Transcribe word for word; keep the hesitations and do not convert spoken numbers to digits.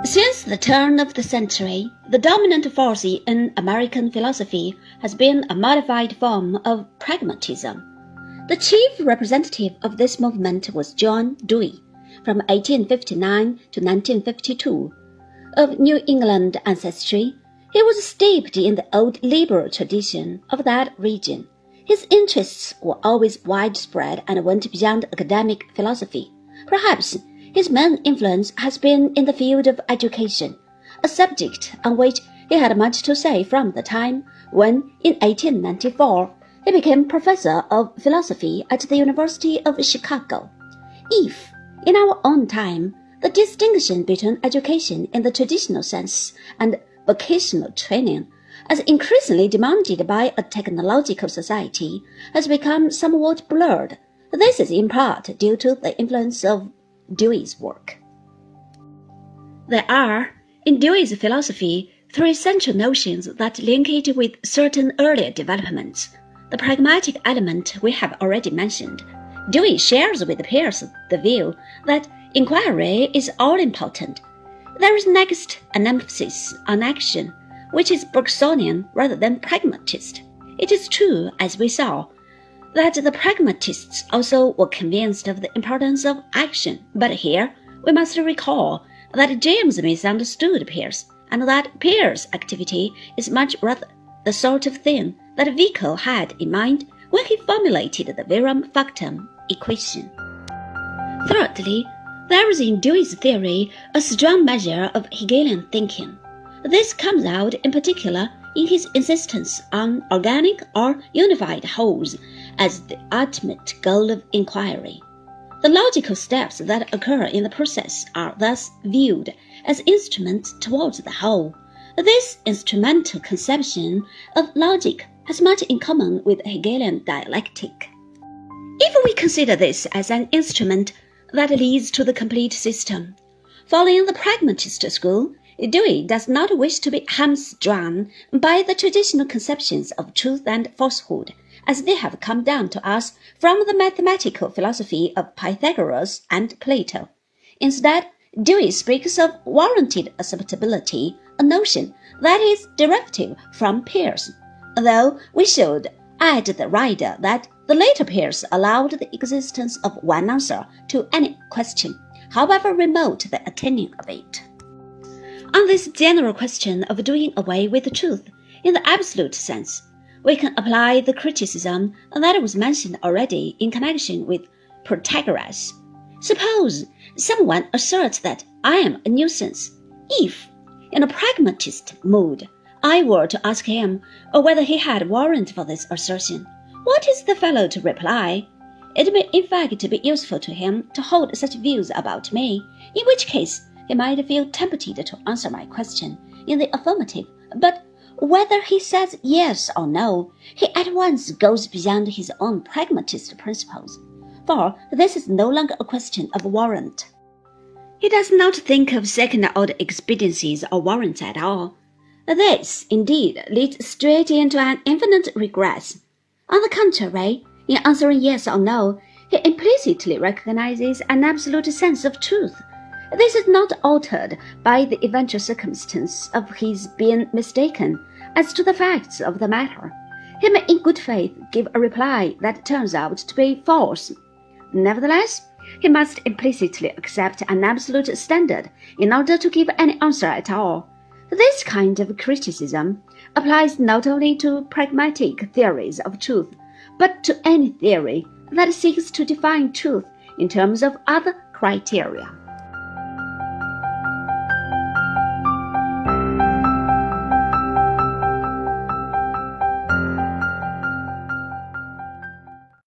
Since the turn of the century, the dominant force in American philosophy has been a modified form of pragmatism. The chief representative of this movement was John Dewey, from eighteen fifty-nine to nineteen fifty-two. Of New England ancestry, he was steeped in the old liberal tradition of that region. His interests were always widespread and went beyond academic philosophy. Perhaps his main influence has been in the field of education, a subject on which he had much to say from the time when, in eighteen ninety-four, he became professor of philosophy at the University of Chicago. If, in our own time, the distinction between education in the traditional sense and vocational training, as increasingly demanded by a technological society, has become somewhat blurred, this is in part due to the influence of Dewey's work. There are, in Dewey's philosophy, three central notions that link it with certain earlier developments. The pragmatic element we have already mentioned. Dewey shares with Peirce the view that inquiry is all-important. There is next an emphasis on action, which is Bergsonian rather than pragmatist. It is true, as we saw, that the pragmatists also were convinced of the importance of action, but here we must recall that James misunderstood Peirce, and that Peirce's activity is much rather the sort of thing that Vico had in mind when he formulated the Verum Factum equation. Thirdly, there is in Dewey's theory a strong measure of Hegelian thinking. This comes out in particular in his insistence on organic or unified wholes as the ultimate goal of inquiry. The logical steps that occur in the process are thus viewed as instruments towards the whole. This instrumental conception of logic has much in common with Hegelian dialectic. If we consider this as an instrument that leads to the complete system, following the pragmatist school, Dewey does not wish to be hamstrung by the traditional conceptions of truth and falsehood, as they have come down to us from the mathematical philosophy of Pythagoras and Plato. Instead, Dewey speaks of warranted acceptability, a notion that is derivative from Peirce, though we should add the rider that the later Peirce allowed the existence of one answer to any question, however remote the attaining of it. On this general question of doing away with truth, in the absolute sense, we can apply the criticism that was mentioned already in connection with Protagoras. Suppose someone asserts that I am a nuisance. If, in a pragmatist mood, I were to ask him whether he had warrant for this assertion, what is the fellow to reply? It may in fact be useful to him to hold such views about me, in which case he might feel tempted to answer my question in the affirmative, but whether he says yes or no, he at once goes beyond his own pragmatist principles, for this is no longer a question of warrant. He does not think of second-order expediencies or warrants at all. This, indeed, leads straight into an infinite regress. On the contrary, in answering yes or no, he implicitly recognizes an absolute sense of truth. This is not altered by the eventual circumstance of his being mistaken as to the facts of the matter. He may in good faith give a reply that turns out to be false. Nevertheless, he must implicitly accept an absolute standard in order to give any answer at all. This kind of criticism applies not only to pragmatic theories of truth, but to any theory that seeks to define truth in terms of other criteria.